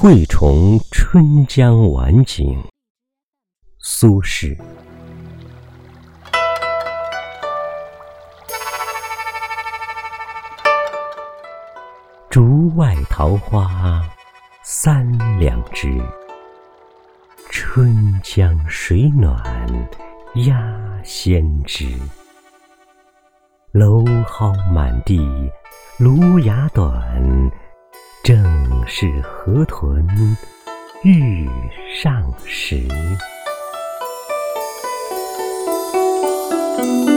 惠崇春江晚景，苏轼。竹外桃花三两枝，春江水暖鸭先知。蒌蒿满地芦芽短，正是河豚欲上时。